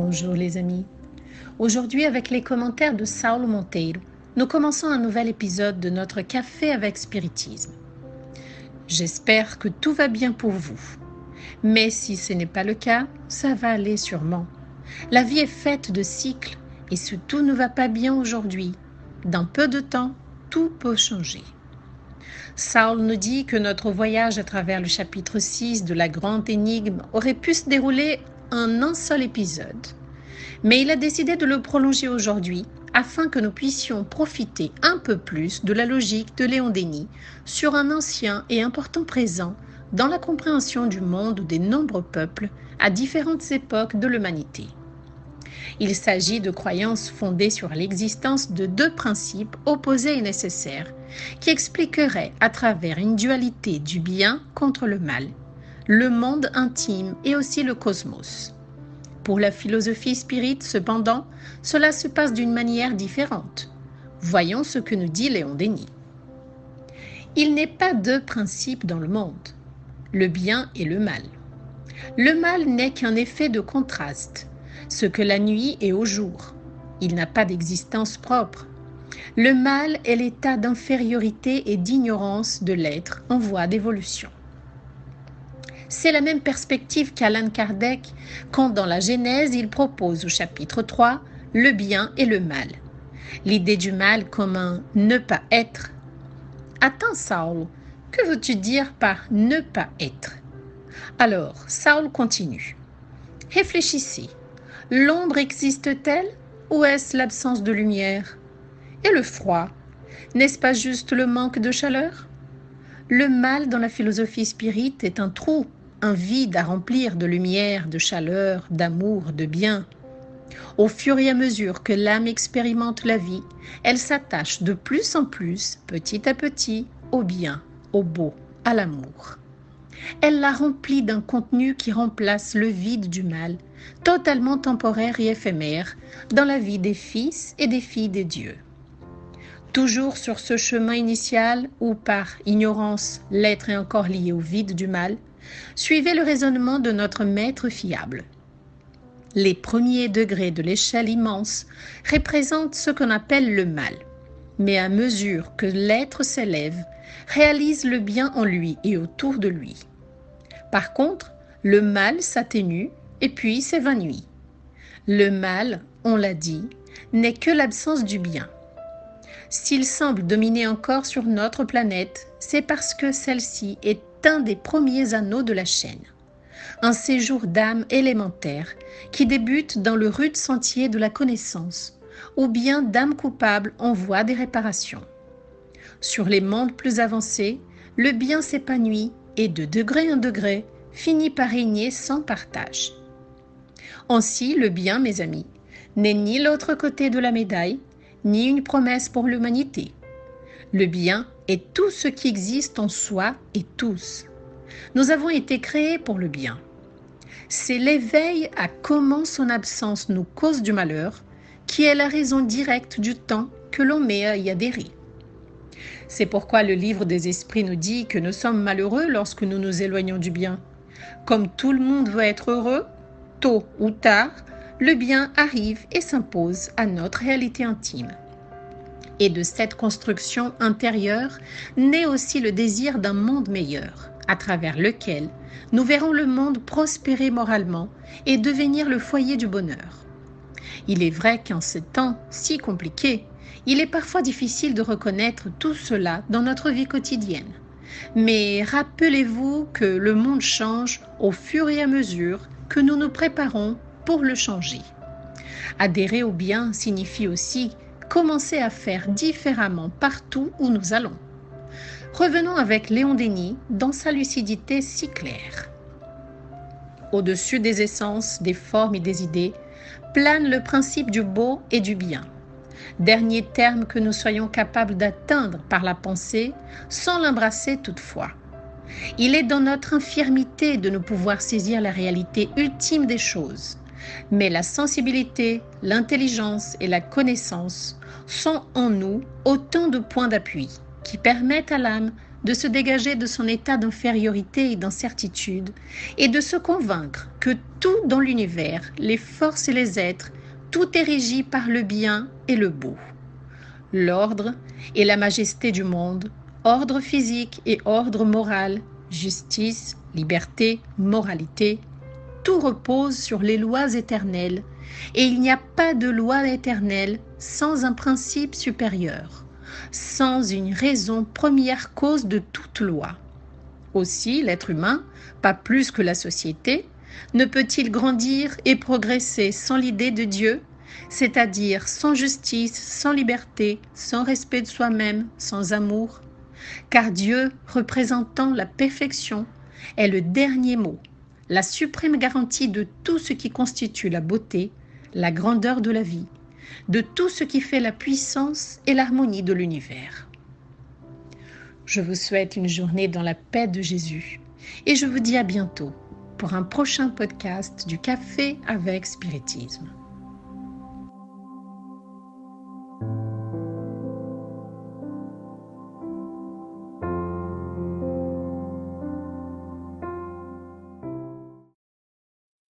Bonjour les amis. Aujourd'hui, avec les commentaires de Saulo Monteiro, nous commençons un nouvel épisode de notre Café avec Spiritisme. J'espère que tout va bien pour vous. Mais si ce n'est pas le cas, ça va aller sûrement. La vie est faite de cycles et si tout ne va pas bien aujourd'hui, dans peu de temps, tout peut changer. Saulo nous dit que notre voyage à travers le chapitre 6 de la grande énigme aurait pu se dérouler en un seul épisode. Mais il a décidé de le prolonger aujourd'hui afin que nous puissions profiter un peu plus de la logique de Léon Denis sur un ancien et important présent dans la compréhension du monde des nombreux peuples à différentes époques de l'humanité. Il s'agit de croyances fondées sur l'existence de deux principes opposés et nécessaires qui expliqueraient à travers une dualité du bien contre le mal, le monde intime et aussi le cosmos. Pour la philosophie spirite, cependant, cela se passe d'une manière différente. Voyons ce que nous dit Léon Denis. Il n'est pas deux principes dans le monde, le bien et le mal. Le mal n'est qu'un effet de contraste, ce que la nuit est au jour. Il n'a pas d'existence propre. Le mal est l'état d'infériorité et d'ignorance de l'être en voie d'évolution. C'est la même perspective qu'Allan Kardec quand dans la Genèse il propose au chapitre 3 le bien et le mal. L'idée du mal comme un ne pas être. Attends Saulo, que veux-tu dire par ne pas être? Alors Saulo continue. Réfléchissez, l'ombre existe-t-elle ou est-ce l'absence de lumière? Et le froid, n'est-ce pas juste le manque de chaleur? Le mal dans la philosophie spirite est un trou, un vide à remplir de lumière, de chaleur, d'amour, de bien. Au fur et à mesure que l'âme expérimente la vie, elle s'attache de plus en plus, petit à petit, au bien, au beau, à l'amour. Elle la remplit d'un contenu qui remplace le vide du mal, totalement temporaire et éphémère, dans la vie des fils et des filles des dieux. Toujours sur ce chemin initial où, par ignorance, l'être est encore lié au vide du mal, suivez le raisonnement de notre maître fiable. Les premiers degrés de l'échelle immense représentent ce qu'on appelle le mal, mais à mesure que l'être s'élève, réalise le bien en lui et autour de lui. Par contre, le mal s'atténue et puis s'évanouit. Le mal, on l'a dit, n'est que l'absence du bien. S'il semble dominer encore sur notre planète, c'est parce que celle-ci est un des premiers anneaux de la chaîne. Un séjour d'âme élémentaire qui débute dans le rude sentier de la connaissance, ou bien d'âme coupable en voie des réparations. Sur les mondes plus avancés, le bien s'épanouit et de degré en degré finit par régner sans partage. Ainsi, le bien, mes amis, n'est ni l'autre côté de la médaille, ni une promesse pour l'humanité. Le bien est tout ce qui existe en soi et tous. Nous avons été créés pour le bien. C'est l'éveil à comment son absence nous cause du malheur qui est la raison directe du temps que l'on met à y adhérer. C'est pourquoi le livre des esprits nous dit que nous sommes malheureux lorsque nous nous éloignons du bien. Comme tout le monde veut être heureux, tôt ou tard, le bien arrive et s'impose à notre réalité intime. Et de cette construction intérieure naît aussi le désir d'un monde meilleur, à travers lequel nous verrons le monde prospérer moralement et devenir le foyer du bonheur. Il est vrai qu'en ces temps si compliqués, il est parfois difficile de reconnaître tout cela dans notre vie quotidienne. Mais rappelez-vous que le monde change au fur et à mesure que nous nous préparons pour le changer. Adhérer au bien signifie aussi commencer à faire différemment partout où nous allons. Revenons avec Léon Denis dans sa lucidité si claire. Au-dessus des essences, des formes et des idées, plane le principe du beau et du bien. Dernier terme que nous soyons capables d'atteindre par la pensée, sans l'embrasser toutefois. Il est dans notre infirmité de ne pouvoir saisir la réalité ultime des choses. Mais la sensibilité, l'intelligence et la connaissance sont en nous autant de points d'appui qui permettent à l'âme de se dégager de son état d'infériorité et d'incertitude et de se convaincre que tout dans l'univers, les forces et les êtres, tout est régi par le bien et le beau. L'ordre et la majesté du monde, ordre physique et ordre moral, justice, liberté, moralité, tout repose sur les lois éternelles et il n'y a pas de loi éternelle sans un principe supérieur, sans une raison première cause de toute loi. Aussi, l'être humain, pas plus que la société, ne peut-il grandir et progresser sans l'idée de Dieu, c'est-à-dire sans justice, sans liberté, sans respect de soi-même, sans amour, car Dieu, représentant la perfection, est le dernier mot, la suprême garantie de tout ce qui constitue la beauté, la grandeur de la vie, de tout ce qui fait la puissance et l'harmonie de l'univers. Je vous souhaite une journée dans la paix de Jésus et je vous dis à bientôt pour un prochain podcast du Café avec Spiritisme.